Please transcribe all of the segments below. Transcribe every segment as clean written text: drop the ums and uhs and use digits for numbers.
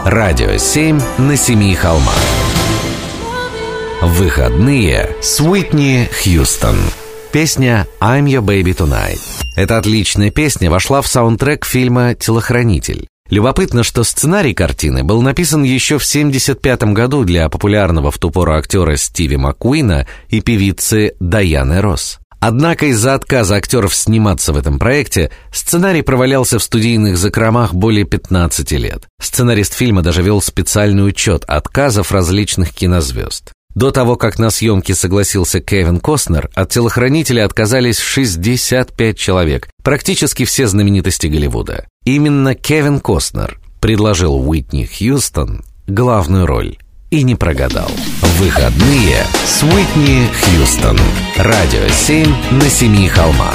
Радио 7 на семи холмах. Выходные с Уитни Хьюстон. Песня «I'm Your Baby Tonight». Эта отличная песня вошла в саундтрек фильма «Телохранитель». Любопытно, что сценарий картины был написан еще в 1975 году для популярного в ту пору актера Стиви Маккуина и певицы Дайаны Росс. Однако из-за отказа актеров сниматься в этом проекте сценарий провалялся в студийных закромах более 15 лет. Сценарист фильма даже вел специальный учет отказов различных кинозвезд. До того, как на съемки согласился Кевин Костнер, от «Телохранителя» отказались 65 человек, практически все знаменитости Голливуда. Именно Кевин Костнер предложил Уитни Хьюстон главную роль. И не прогадал. Выходные с Уитни Хьюстон. Радио 7 на семи холмах.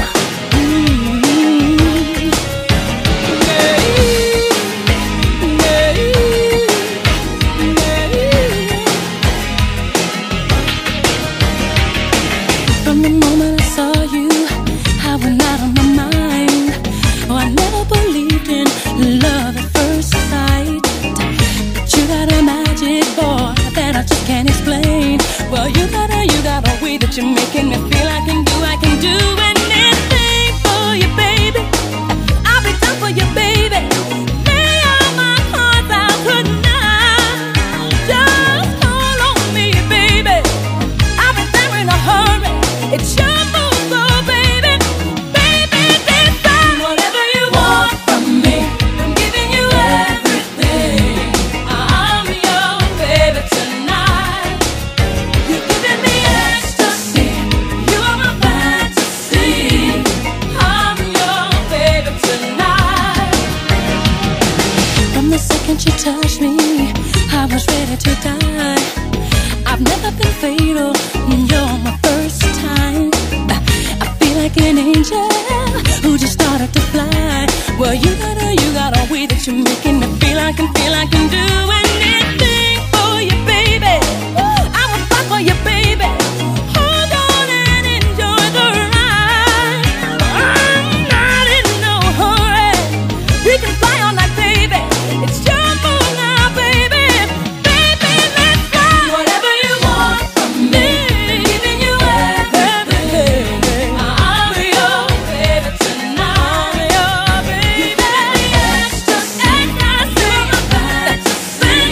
You're making me feel I can do anything for you, baby. I'll be done for you, baby. Lay all my cards out tonight. Just call on me, baby. I'll be there in a hurry. It's your move, so baby. Baby, decide whatever you want from me. I'm giving you everything. I'm your baby tonight. You're giving me ecstasy. You are my fantasy. I'm your baby tonight. From the second you touched me, I was ready to die. I've never been fatal. You're my first time. I feel like an angel who just started to fly. Well, you got a way that you're making me feel I can do anything for you, baby. I will fight for you, baby. Hold on and enjoy the ride. I'm not in no hurry. We can fly all night, baby. It's your move now, baby. Baby, let's fly. Whatever you want from me, giving you everything. I'm your baby tonight. I'm your baby. Ecstasy, ecstasy, fantasy.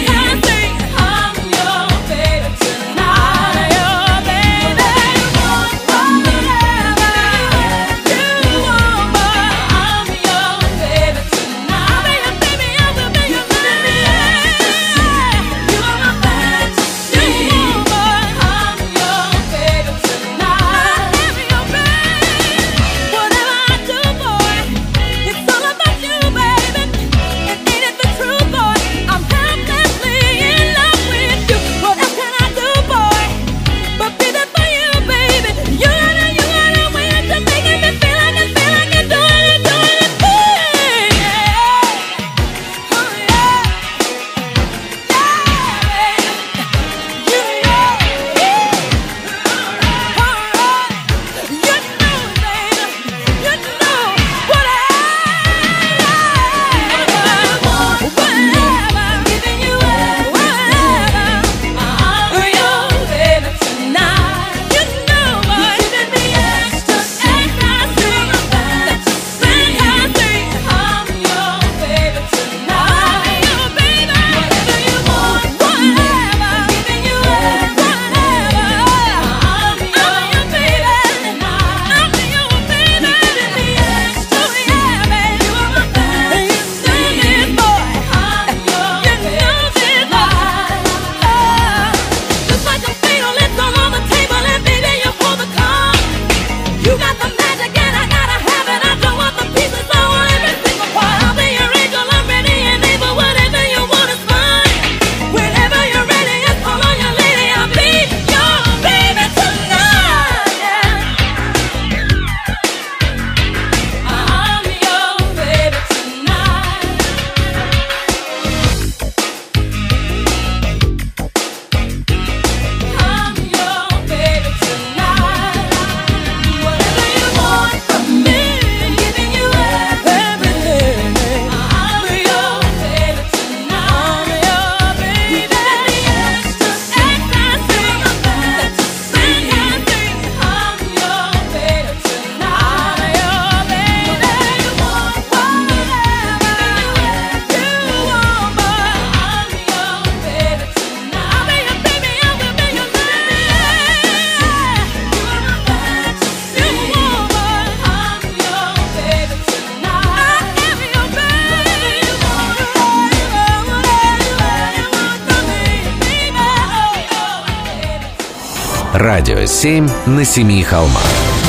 Радио 7 на семи холмах.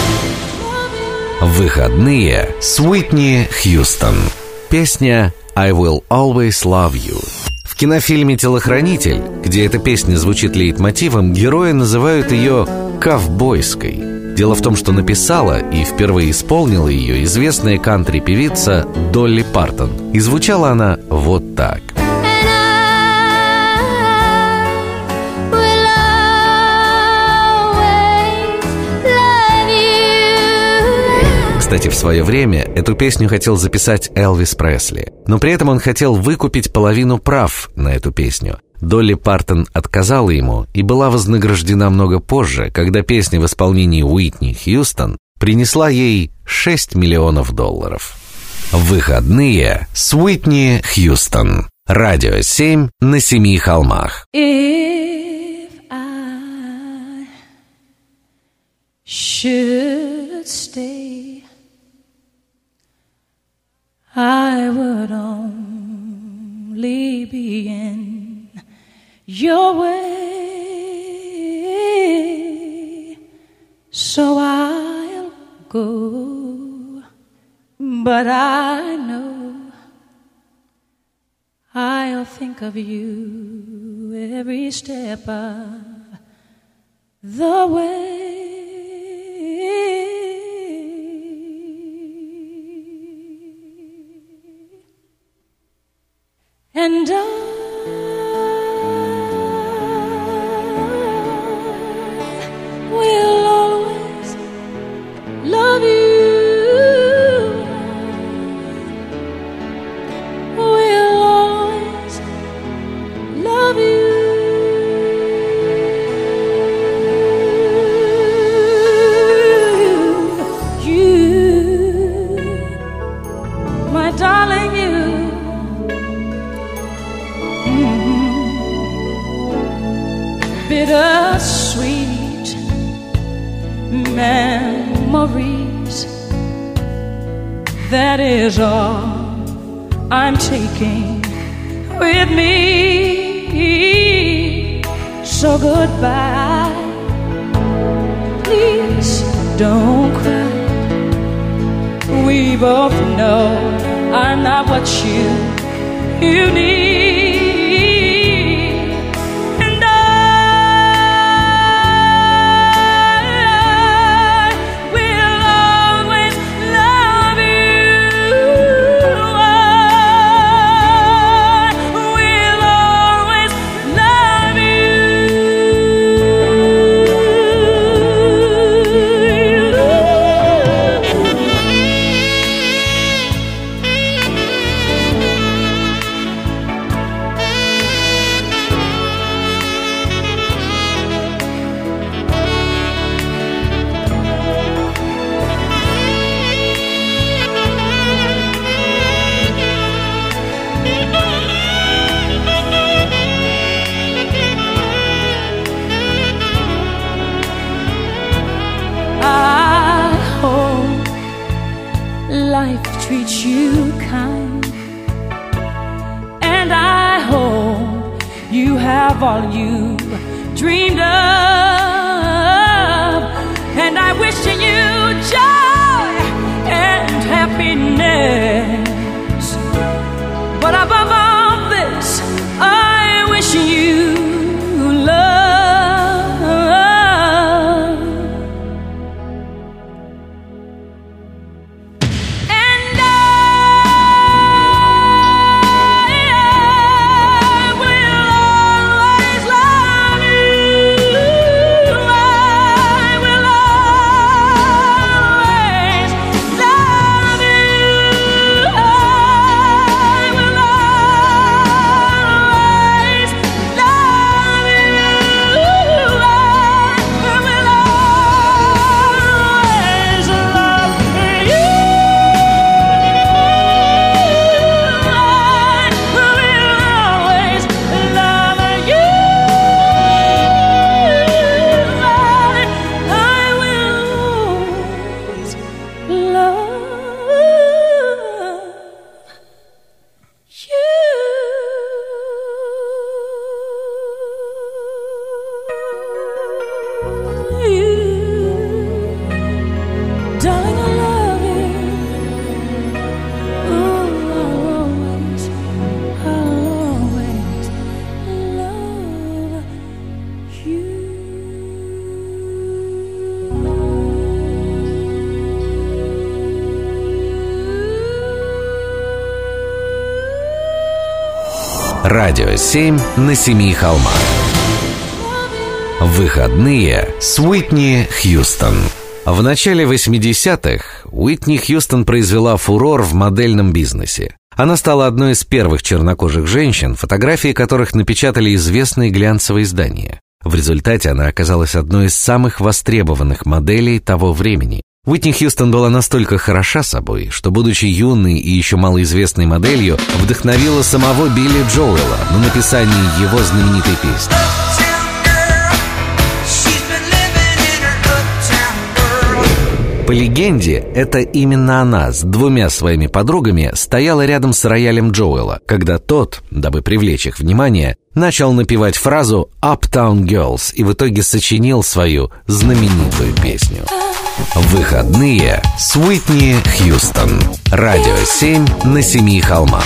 Выходные с Уитни Хьюстон. Песня «I Will Always Love You». В кинофильме «Телохранитель», где эта песня звучит лейтмотивом, герои называют ее «ковбойской». Дело в том, что написала и впервые исполнила ее известная кантри-певица Долли Партон. И звучала она вот так. Кстати, в свое время эту песню хотел записать Элвис Пресли, но при этом он хотел выкупить половину прав на эту песню. Долли Партон отказала ему и была вознаграждена много позже, когда песня в исполнении Уитни Хьюстон принесла ей $6 миллионов. Выходные с Уитни Хьюстон. Радио 7 на семи холмах. If I should stay, I would only be in your way, so I'll go, but I know I'll think of you every step of the way. And I will always love you. Will always love you. You, my darling, you. Bittersweet memories, that is all I'm taking with me. So goodbye, please don't cry. We both know I'm not what you need. Treat you kind, and I hope you have all you dreamed of, and I wish you joy and happiness, but above all this I wish you love. Радио 7 на семи холмах. Выходные с Уитни Хьюстон. В начале 80-х Уитни Хьюстон произвела фурор в модельном бизнесе. Она стала одной из первых чернокожих женщин, фотографии которых напечатали известные глянцевые издания. В результате она оказалась одной из самых востребованных моделей того времени. Уитни Хьюстон была настолько хороша собой, что, будучи юной и еще малоизвестной моделью, вдохновила самого Билли Джоэла на написание его знаменитой песни. По легенде, это именно она с двумя своими подругами стояла рядом с роялем Джоэла, когда тот, дабы привлечь их внимание, начал напевать фразу «Uptown Girls» и в итоге сочинил свою знаменитую песню. Выходные с Уитни Хьюстон. Радио 7 на семи холмах.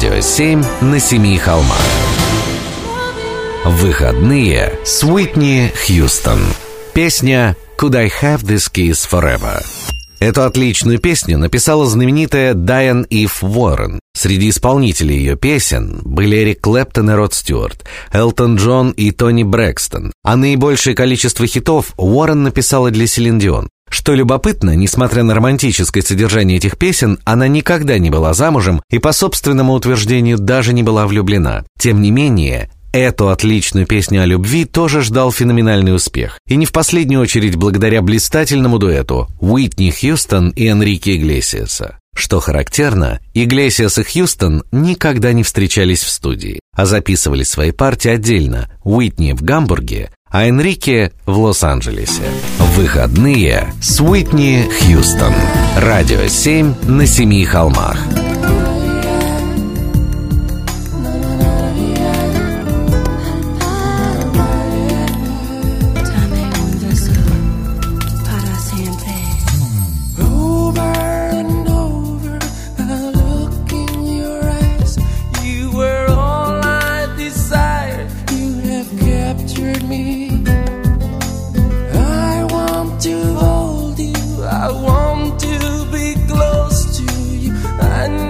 Радио 7 на семи холмах. Выходные с Уитни Хьюстон. Песня «Could I Have This Kiss Forever». Эту отличную песню написала знаменитая Дайан Ив Уоррен. Среди исполнителей ее песен были Эрик Клэптон и Род Стюарт, Элтон Джон и Тони Брэкстон. А наибольшее количество хитов Уоррен написала для Селин Дион. Что любопытно, несмотря на романтическое содержание этих песен, она никогда не была замужем и, по собственному утверждению, даже не была влюблена. Тем не менее, эту отличную песню о любви тоже ждал феноменальный успех. И не в последнюю очередь благодаря блистательному дуэту Уитни Хьюстон и Энрике Иглесиаса. Что характерно, Иглесиас и Хьюстон никогда не встречались в студии, а записывали свои партии отдельно. Уитни в Гамбурге, а Энрике в Лос-Анджелесе. Выходные с Уитни Хьюстон. Радио 7 на семи холмах. I want to be close to you. I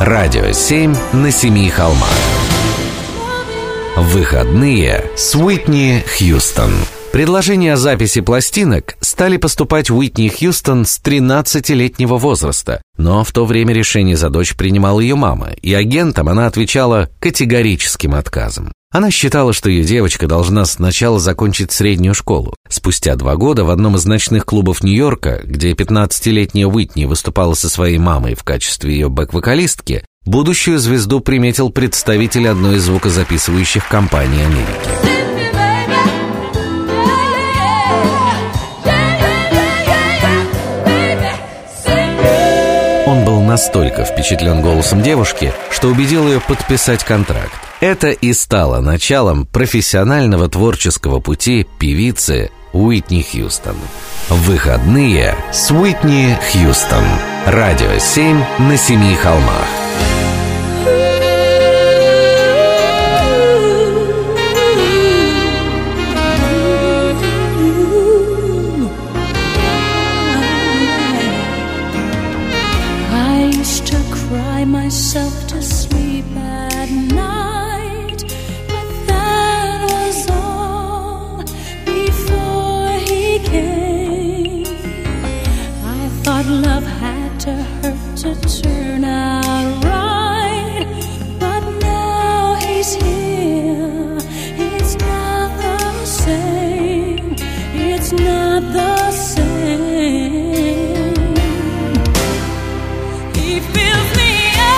Радио 7 на семи холмах. Выходные с Уитни Хьюстон. Предложения о записи пластинок стали поступать Уитни Хьюстон с 13-летнего возраста, но в то время решение за дочь принимала ее мама, и агентам она отвечала категорическим отказом. Она считала, что ее девочка должна сначала закончить среднюю школу. Спустя 2 года в одном из ночных клубов Нью-Йорка, где 15-летняя Уитни выступала со своей мамой в качестве ее бэк-вокалистки, будущую звезду приметил представитель одной из звукозаписывающих компаний Америки. Он был настолько впечатлен голосом девушки, что убедил ее подписать контракт. Это и стало началом профессионального творческого пути певицы Уитни Хьюстон. Выходные с Уитни Хьюстон. Радио 7 на семи холмах. Myself to sleep at night, but that was all before he came. I thought love had to hurt to turn out right, but now he's here. It's not the same. It's not the same. He fills me.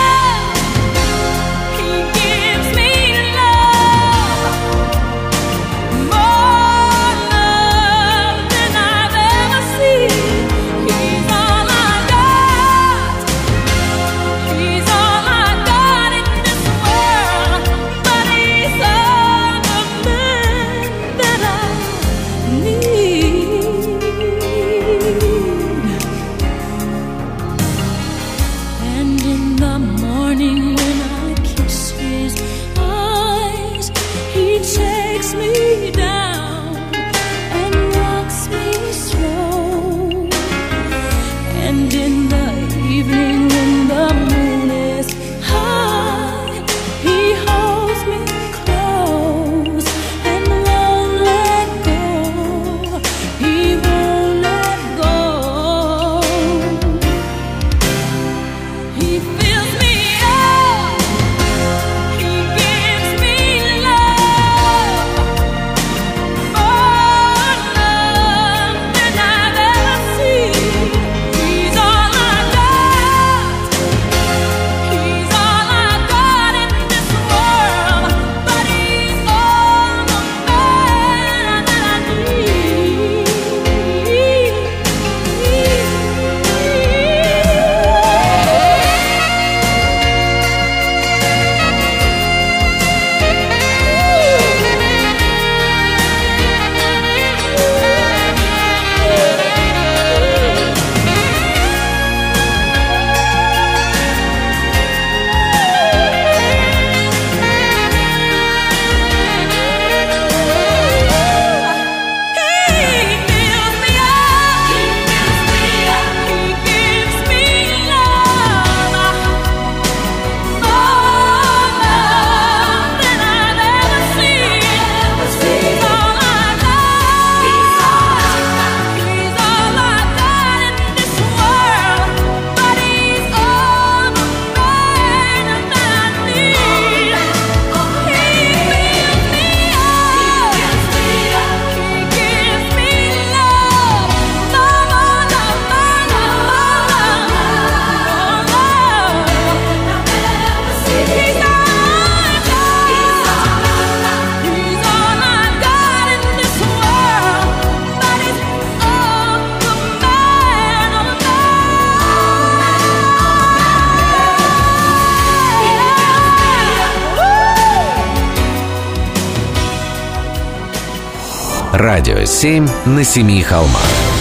Радио 7 на семи холмах.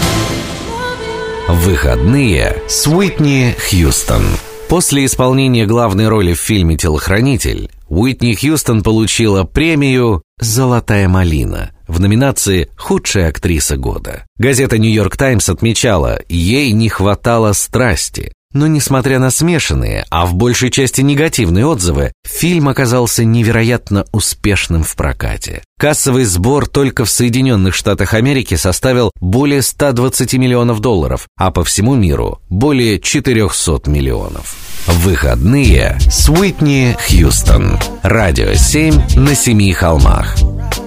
Выходные с Уитни Хьюстон. После исполнения главной роли в фильме «Телохранитель» Уитни Хьюстон получила премию «Золотая малина» в номинации «Худшая актриса года». Газета «Нью-Йорк Таймс» отмечала, ей не хватало страсти. Но несмотря на смешанные, а в большей части негативные отзывы, фильм оказался невероятно успешным в прокате. Кассовый сбор только в Соединенных Штатах Америки составил более 120 миллионов долларов, а по всему миру более 400 миллионов. Выходные с Уитни Хьюстон. Радио 7 на семи холмах.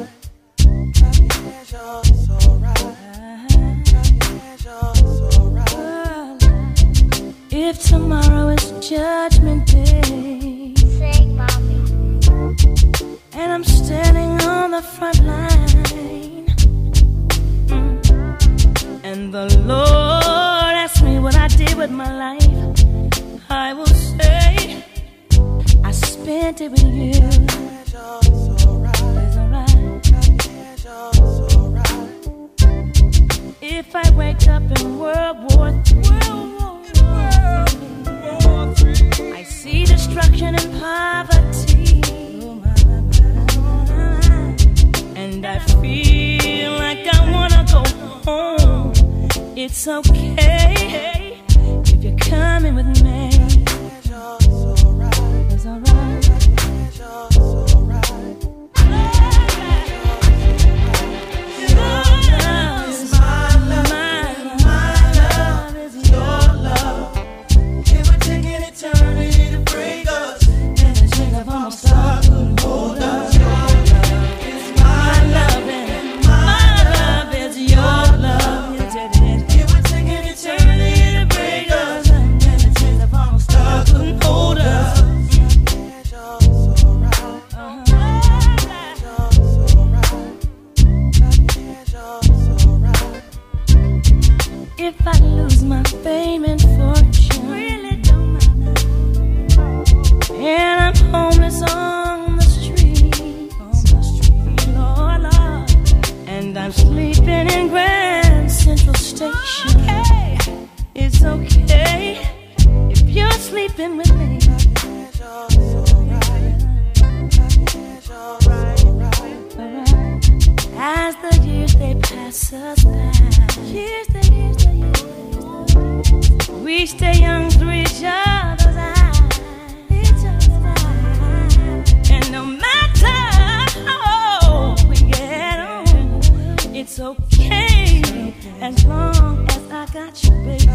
If tomorrow is Judgment Day, Sing, mommy. and I'm standing on the front line, and the Lord asks me what I did with my life, I will say I spent it with you. It's alright. If I wake up in World War III, I see destruction and poverty, and I feel like I wanna go home. It's okay if you're coming with me. It's alright. If I lose my fame and fortune, really don't matter, and I'm homeless on the street, Lord, Lord, and I'm sleeping in Grand Central Station, okay. It's okay if you're sleeping with me. As the years they pass us by, we stay young through each other's eyes. And no matter how old we get on, it's okay as long as I got you, baby.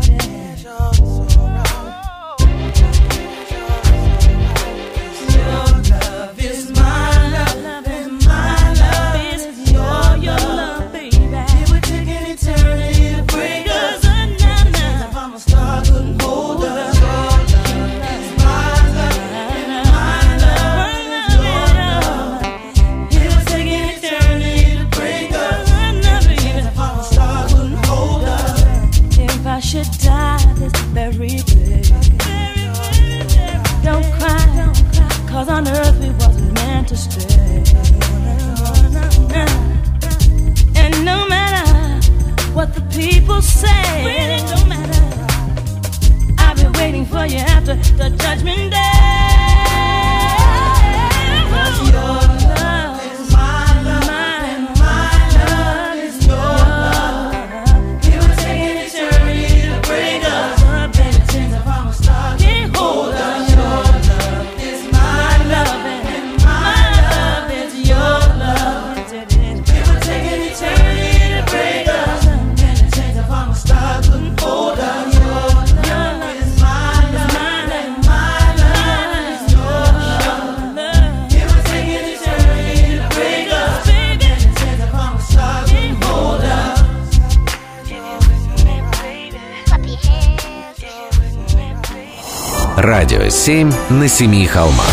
Your love is my love, and my love is your love, baby. It would take an eternity to break us. Should die this very day. Don't cry, cause on earth we wasn't meant to stay. And no matter what the people say, it don't matter, I've been waiting for you after the Judgment Day. Your love is my love, and my love is your love. It would take an eternity to break us, baby, since I'm a star. Can't hold us. Your love is my love, and my love is your love. It would take an eternity to break us, baby, since I'm a star. Couldn't hold us. Your love is my love, and my love is your love. It would take an eternity to break us, baby, since I'm a star. Couldn't hold us. Puppy hands. Радио 7 на семи холмах.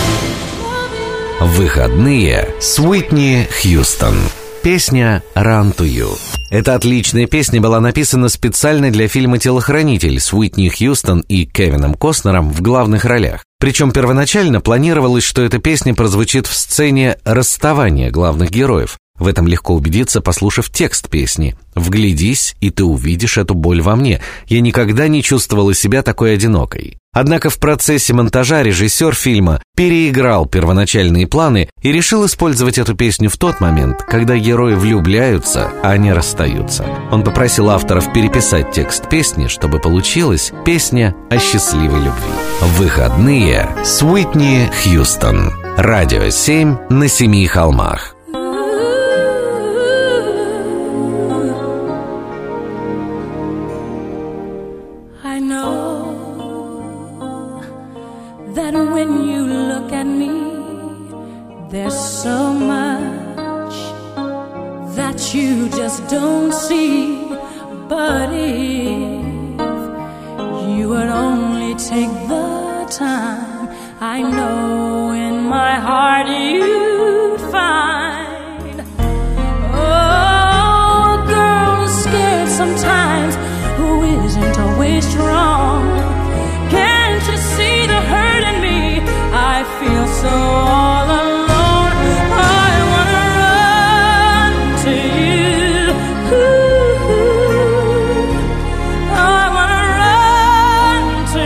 Выходные с Уитни Хьюстон. Песня «Run to You». Эта отличная песня была написана специально для фильма «Телохранитель» с Уитни Хьюстон и Кевином Костнером в главных ролях. Причем первоначально планировалось, что эта песня прозвучит в сцене расставания главных героев. В этом легко убедиться, послушав текст песни. «Вглядись, и ты увидишь эту боль во мне. Я никогда не чувствовала себя такой одинокой». Однако в процессе монтажа режиссер фильма переиграл первоначальные планы и решил использовать эту песню в тот момент, когда герои влюбляются, а не расстаются. Он попросил авторов переписать текст песни, чтобы получилась песня о счастливой любви. «Выходные» с Уитни Хьюстон. Радио 7 на 7 холмах. That when you look at me, there's so much that you just don't see. But if you would only take the time, I know in my heart you'd find. Oh, girl is scared sometimes, who isn't always strong. Can't you see the hurt in me? I feel so all alone. I wanna run to you. I wanna run to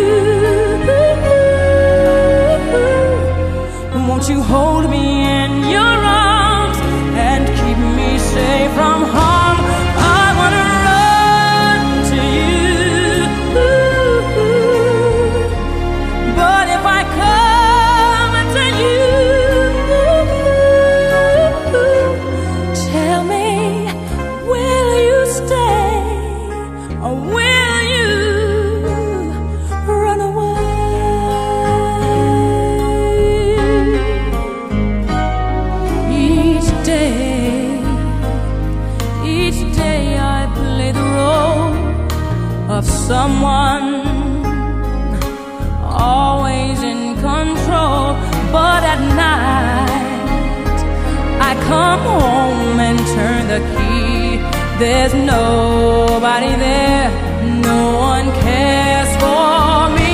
you. Won't you hold me in your arms and keep me safe from harm? I wanna run to you. But if I come to you, tell me, will you stay or will you run away? Each day I play the role of someone always in control, but at night I come home and turn the key. There's nobody there, no one cares for me.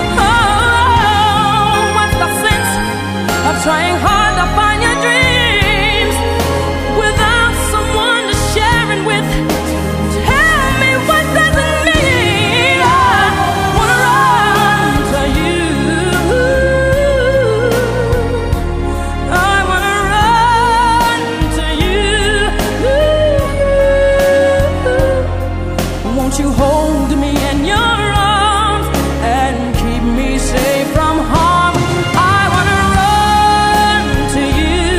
Oh, what's the sense of trying hard to find your dreams without someone to share it with? Tell me, what does it mean? I wanna run to you. I wanna run to you. Won't you hold me in your arms and keep me safe from harm? I wanna run to you.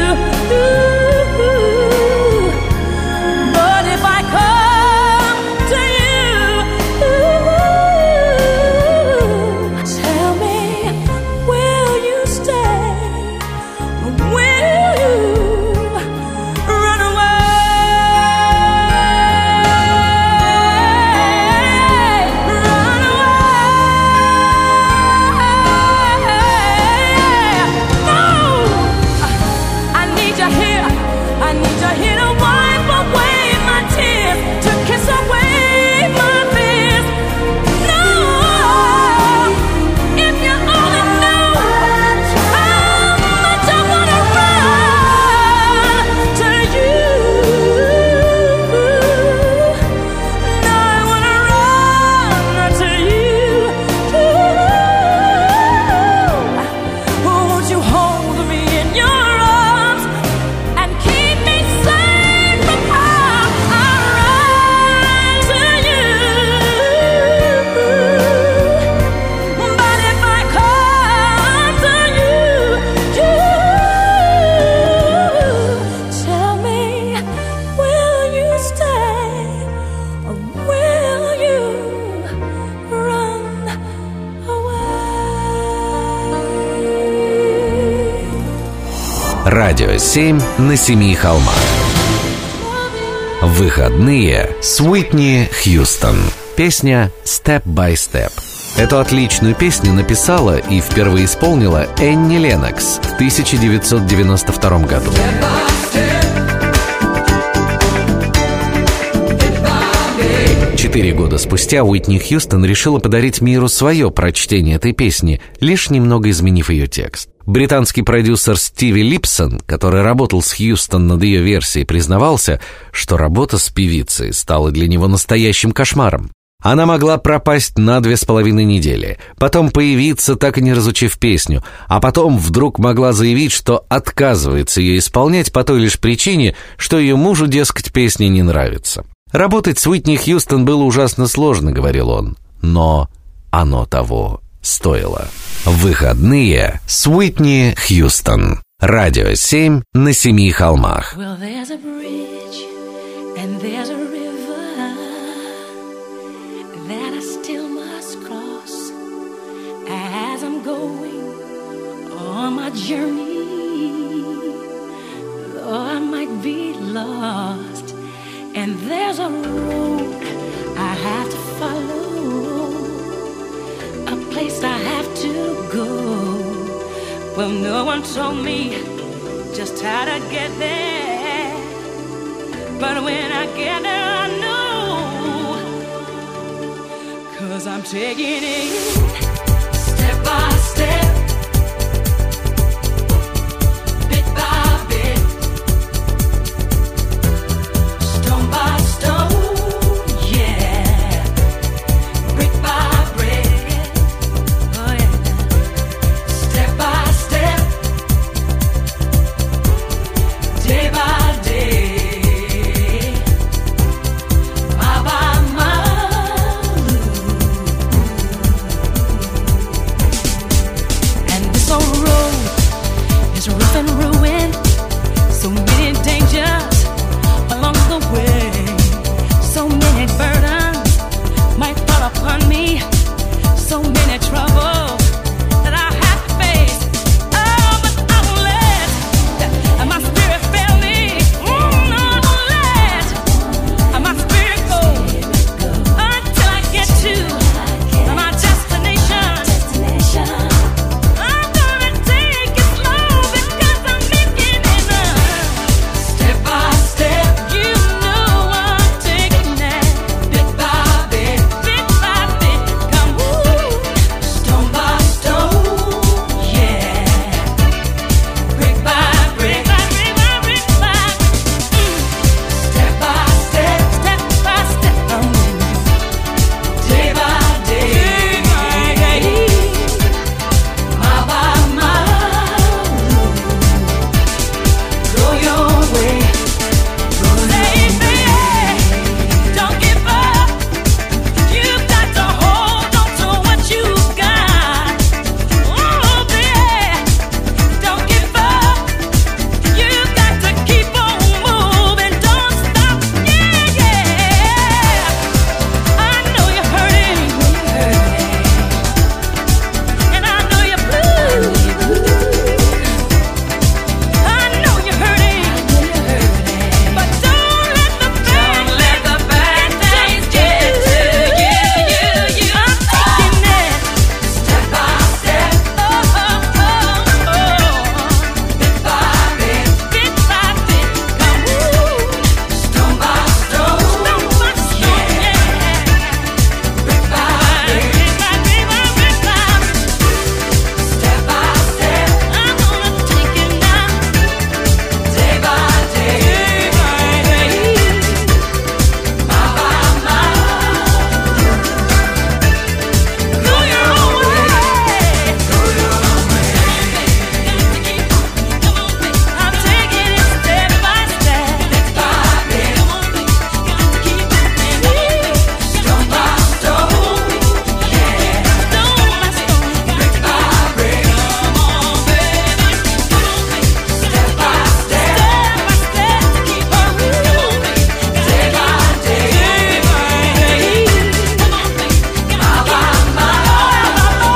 But if I come to you, tell me, will you stay or will you run away? Run away. No, I need you here. I need you here to wipe away my tears, to kiss away my fears. No, if you only knew how much I wanna run to you. No, I wanna run to you. Won't you hold me in your arms and keep me safe from harm? I'll run to you. But if I come to you, tell me, will you stay or will you run away? Радио 7 на 7 холмах. «Выходные» с Уитни Хьюстон. Песня «Step by Step». Эту отличную песню написала и впервые исполнила Энни Леннокс в 1992 году. 4 года спустя Уитни Хьюстон решила подарить миру свое прочтение этой песни, лишь немного изменив ее текст. Британский продюсер Стиви Липсон, который работал с Хьюстон над ее версией, признавался, что работа с певицей стала для него настоящим кошмаром. Она могла пропасть на 2,5 недели, потом появиться, так и не разучив песню, а потом вдруг могла заявить, что отказывается ее исполнять по той лишь причине, что ее мужу, дескать, песня не нравится. «Работать с Уитни Хьюстон было ужасно сложно», — говорил он, — «но оно того стоило». Выходные с Уитни Хьюстон. Радио 7 на Семи холмах. Well, there's a bridge and there's a river that I still must cross as I'm going on my journey. Though I might be lost, and there's a road I have to follow, a place I have to go. Well, no one told me just how to get there, but when I get there I know, 'cause I'm taking it step by step, bit by bit, stone by stone, yeah, brick by brick, oh yeah, step by step, day by day, mile by mile, and this old road is rough and ruined, so many dangers along the way, so many burdens might fall upon me, so many troubles that I have to face. Oh, but I won't let my spirit fail me. No, I won't let my spirit go until I get to my destination. I'm gonna take it slow because I'm making it step by step. You know I'm taking that bit by bit, bit by bit. Come stone by stone, yeah, brick by brick, brick by brick, step by step, step by step, day by day, mile by mile, go your way, go your way. Don't give up. You've got to hold on to what you got. Oh, baby, don't give up. You've got to keep on moving. Don't stop. Yeah, yeah. I know you're hurting, and I know you're blue. I know you're hurting, but don't let the bad things get to you. I'm taking it step by step, bit by bit, bit by bit. Come stone by stone, yeah, brick by brick, brick by brick, step by step. I'm gonna take it now, day by day, mile by mile, go your own way, go your own way. I'm taking it step by step, bit by bit, stone by stone, yeah, stone by stone, brick by brick, come on, baby, step by step, keep on moving, day by day, mile by mile,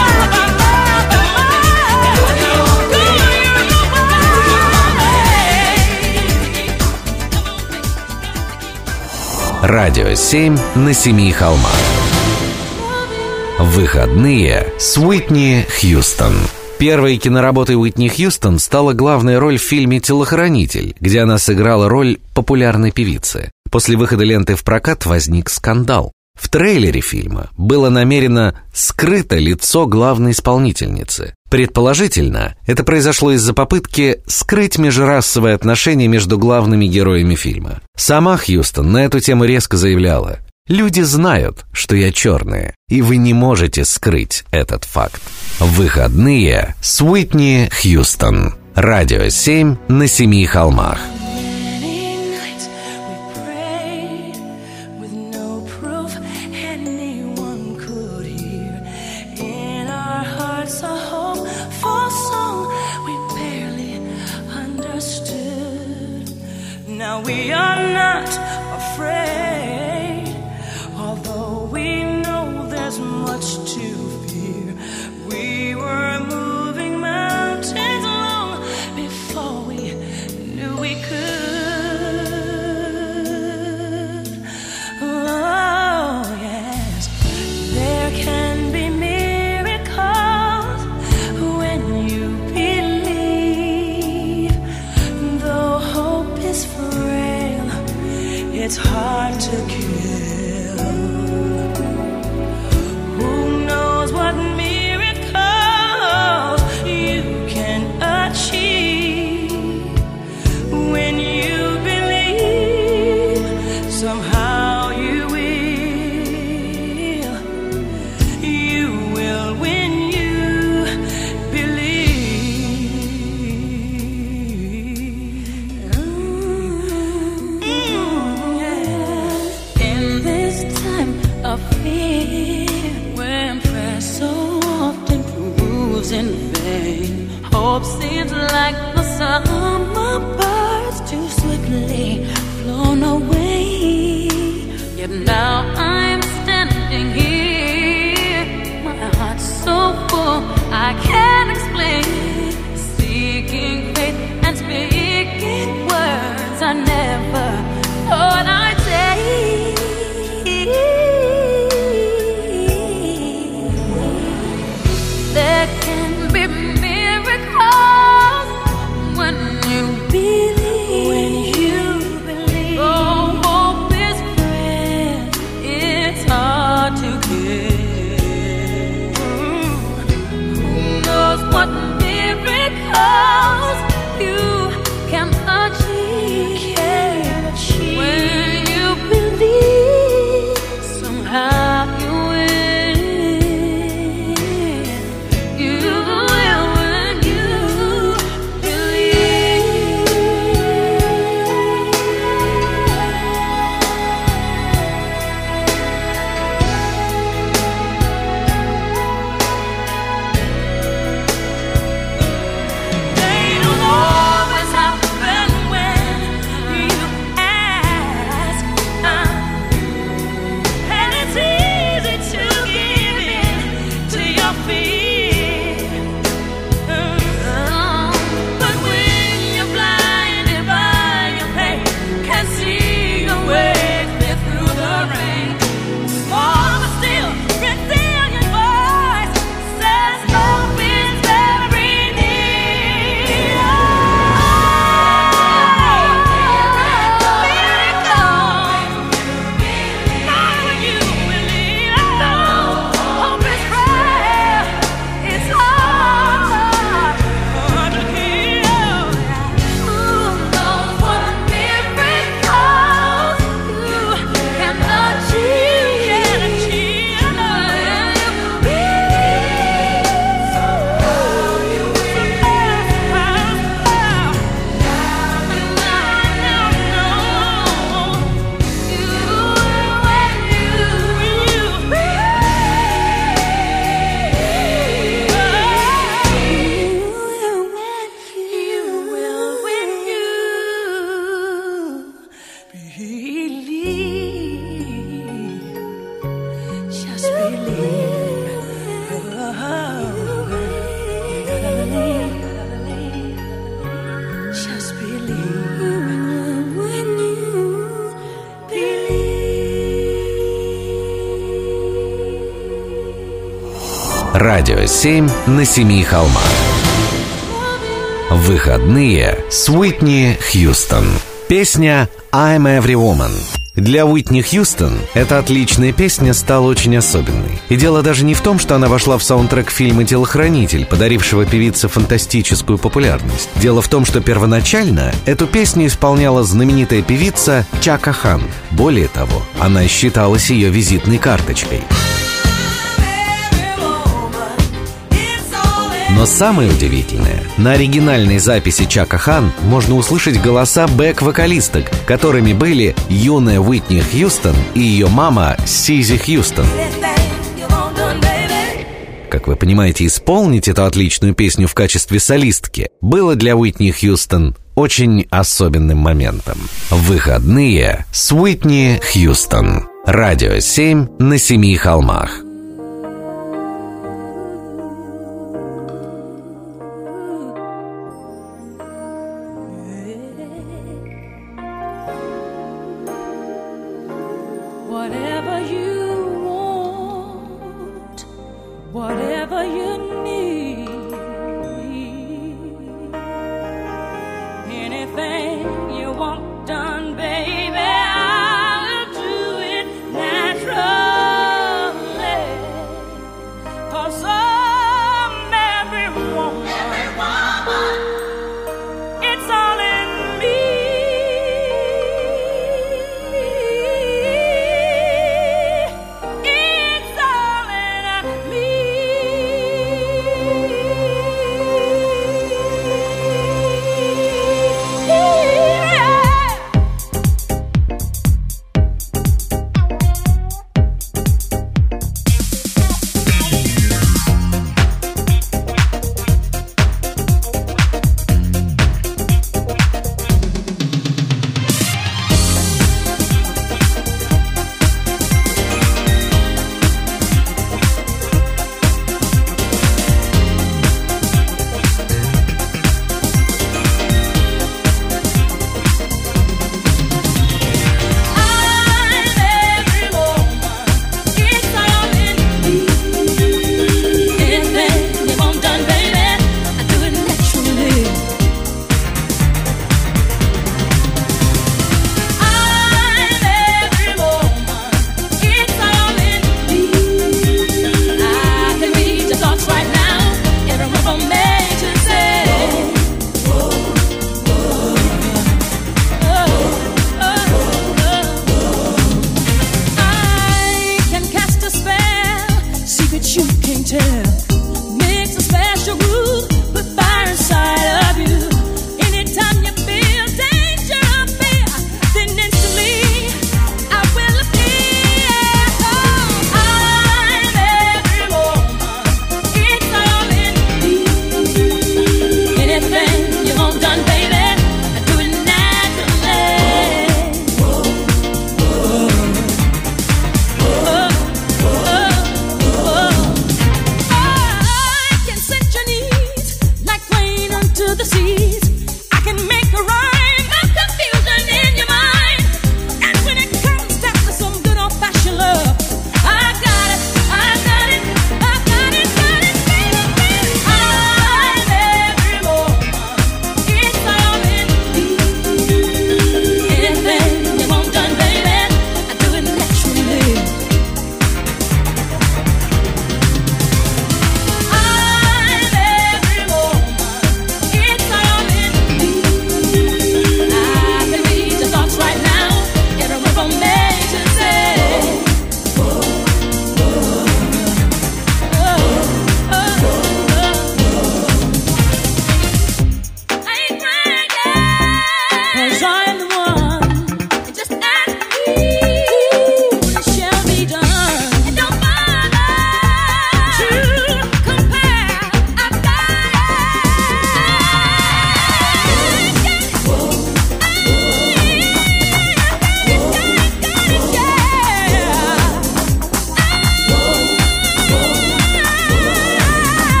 go your Радио 7 на Семи холмах. Выходные с Уитни Хьюстон. Первой киноработой Уитни Хьюстон стала главная роль в фильме «Телохранитель», где она сыграла роль популярной певицы. После выхода ленты в прокат возник скандал. В трейлере фильма было намеренно скрыто лицо главной исполнительницы. Предположительно, это произошло из-за попытки скрыть межрасовые отношения между главными героями фильма. Сама Хьюстон на эту тему резко заявляла: «Люди знают, что я черная, и вы не можете скрыть этот факт». Выходные с Уитни Хьюстон. Радио 7 на семи холмах. Many nights we prayed with no proof anyone could hear. In our hearts a hopeful song we barely understood. Now we are not afraid, although we know there's much to fear. We were moving mountains long before we knew we could. Oh, yes, there can be miracles when you believe. Though hope is frail, it's hard to kill. Who knows what miracles you can achieve when you believe? Somehow you will when you believe. Yeah. In this time of fear, when prayer so often proves in vain, hope seems like the summer birds too swiftly flown away. Yet now I'm standing here, my heart's so full I can't explain, seeking faith and speaking words I never thought I'd say. There can be miracles when you believe. When you believe. Oh, hope is frail, it's hard to get. Who knows what miracles you can achieve when you believe. Somehow you will. You will when you believe. They don't always happen when you ask, and it's easy to give in to your fear. But when you're blinded by your pain, can't see your way clear through the rain, small but still resilient voice says hope is very near. Not when you believe. Hope is frail, it's hard to kill. Who knows what miracles you can achieve when you believe. Somehow you just believe. Just believe when you believe. Радио 7 на семи холмах. Выходные с Уитни Хьюстон. Песня «I'm Every Woman». Для Уитни Хьюстон эта отличная песня стала очень особенной. И дело даже не в том, что она вошла в саундтрек фильма «Телохранитель», подарившего певице фантастическую популярность. Дело в том, что первоначально эту песню исполняла знаменитая певица Чака Хан. Более того, она считалась ее визитной карточкой. Но самое удивительное, на оригинальной записи Чака Хан можно услышать голоса бэк-вокалисток, которыми были юная Уитни Хьюстон и ее мама Сизи Хьюстон. Как вы понимаете, исполнить эту отличную песню в качестве солистки было для Уитни Хьюстон очень особенным моментом. Выходные с Уитни Хьюстон. Радио 7 на 7 холмах. Whatever you want, whatever you need, anything you want done, baby, I'll do it naturally. 'Cause I'm every woman, it's all in me. It's all in me.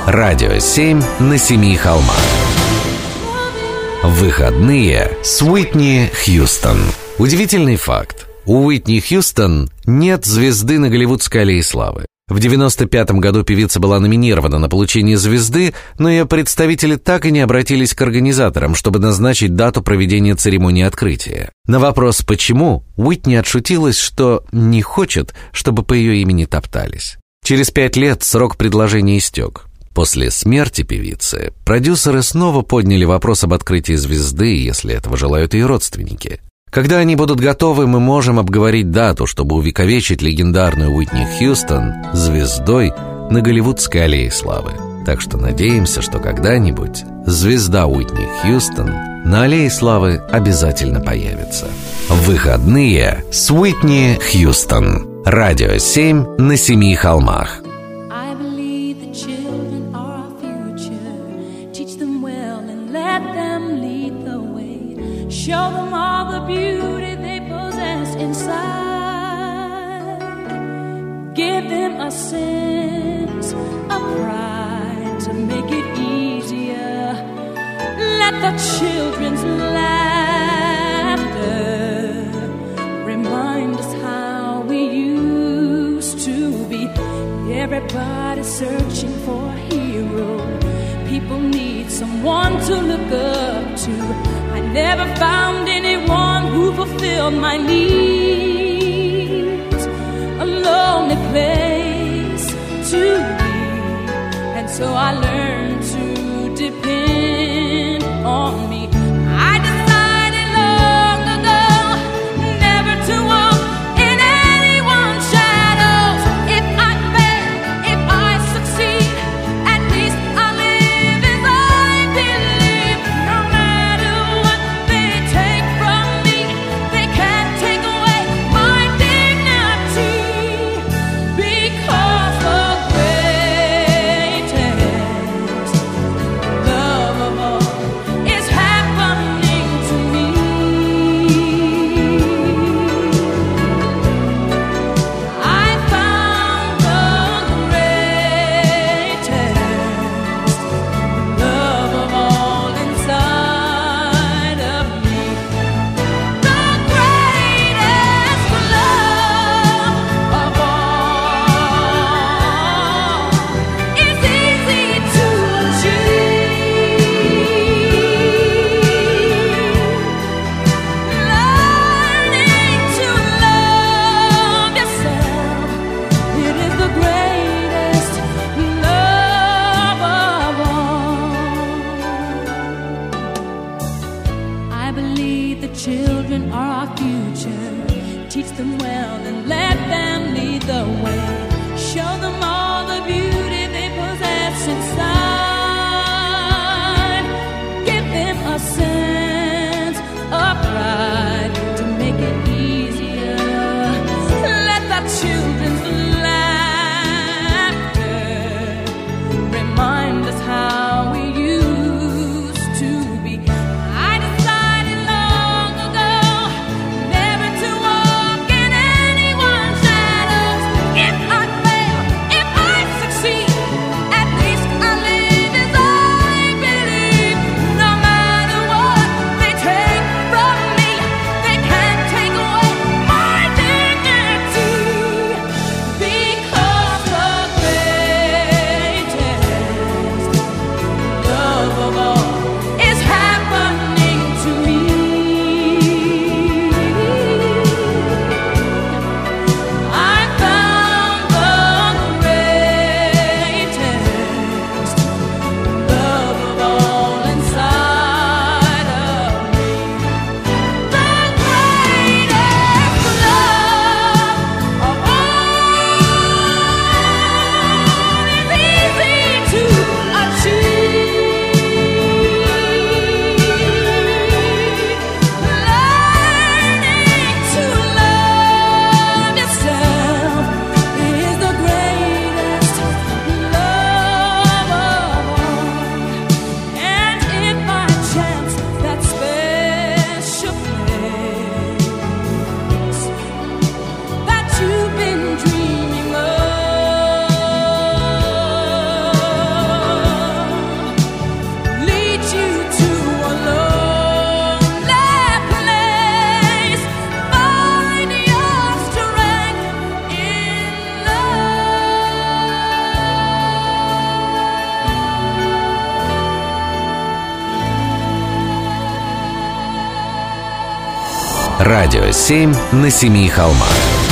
Радио 7 на семи холмах. Выходные с Уитни Хьюстон. Удивительный факт. У Уитни Хьюстон нет звезды на Голливудской аллее славы. В 1995 году певица была номинирована на получение звезды, но ее представители так и не обратились к организаторам, чтобы назначить дату проведения церемонии открытия. На вопрос «почему?» Уитни отшутилась, что не хочет, чтобы по ее имени топтались. Через 5 лет срок предложения истек. После смерти певицы продюсеры снова подняли вопрос об открытии звезды, если этого желают ее родственники. Когда они будут готовы, мы можем обговорить дату, чтобы увековечить легендарную Уитни Хьюстон звездой на Голливудской аллее славы. Так что надеемся, что когда-нибудь звезда Уитни Хьюстон на аллее славы обязательно появится. Выходные с Уитни Хьюстон. Радио 7 на семи холмах. Show them all the beauty they possess inside. Give them a sense of pride to make it easier. Let the children's laughter remind us how we used to be. Everybody's searching for a hero. People need someone to look up to. I never found anyone who fulfilled my needs. A lonely place to be. And so I learned to depend on me. I decided long ago never to walk in anyone's shadows. If I fail, if I succeed, at least I'll live as I believe. No matter what they take from me, they can't take away my dignity. Because the greatest love Радио 7 на семи холмах.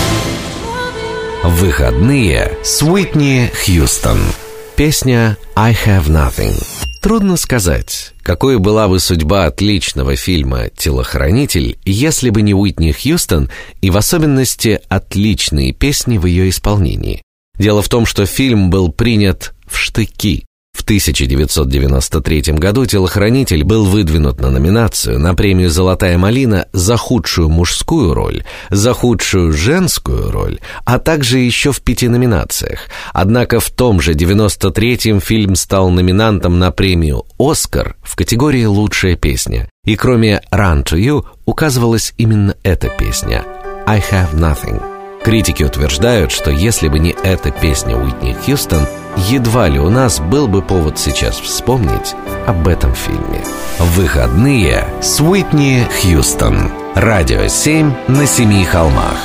Выходные с Уитни Хьюстон. Песня «I have nothing». Трудно сказать, какой была бы судьба отличного фильма «Телохранитель», если бы не Уитни Хьюстон и в особенности отличные песни в ее исполнении. Дело в том, что фильм был принят в штыки. В 1993 году «Телохранитель» был выдвинут на номинацию на премию «Золотая малина» за худшую мужскую роль, за худшую женскую роль, а также еще в 5 номинациях. Однако в том же 93-м фильм стал номинантом на премию «Оскар» в категории «Лучшая песня». И кроме «Run to You» указывалась именно эта песня «I have nothing». Критики утверждают, что если бы не эта песня Уитни Хьюстон, едва ли у нас был бы повод сейчас вспомнить об этом фильме. Выходные с Уитни Хьюстон. Радио 7 на семи холмах.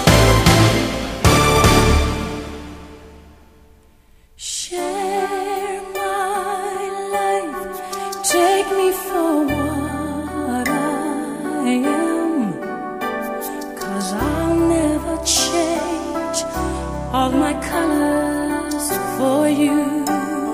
All my colors for you.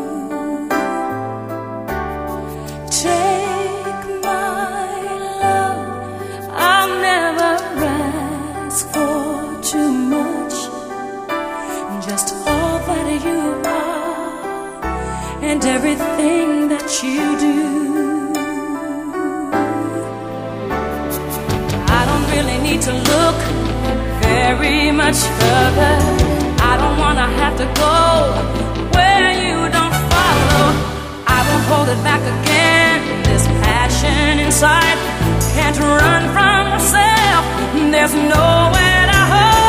Take my love, I'll never ask for too much. Just all that you are and everything that you do. I don't really need to look very much further. I don't wanna have to go where you don't follow. I won't hold it back again. This passion inside can't run from myself. There's nowhere to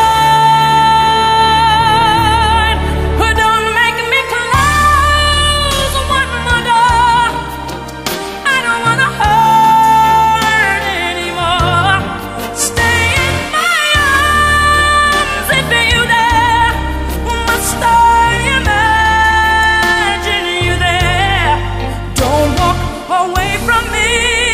hide. But don't make me close one more door. I don't wanna hurt anymore. Stay in my arms if you dare. Must I imagine you there? Don't walk away from me.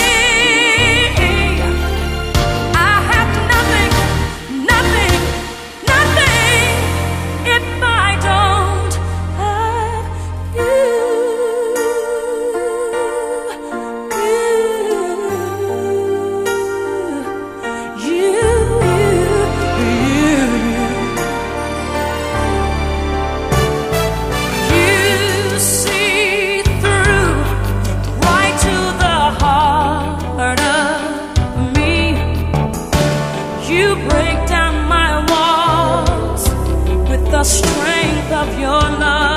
I have nothing, nothing, nothing if I don't have you. You see through right to the heart of me. You break down my walls with the strength of your love.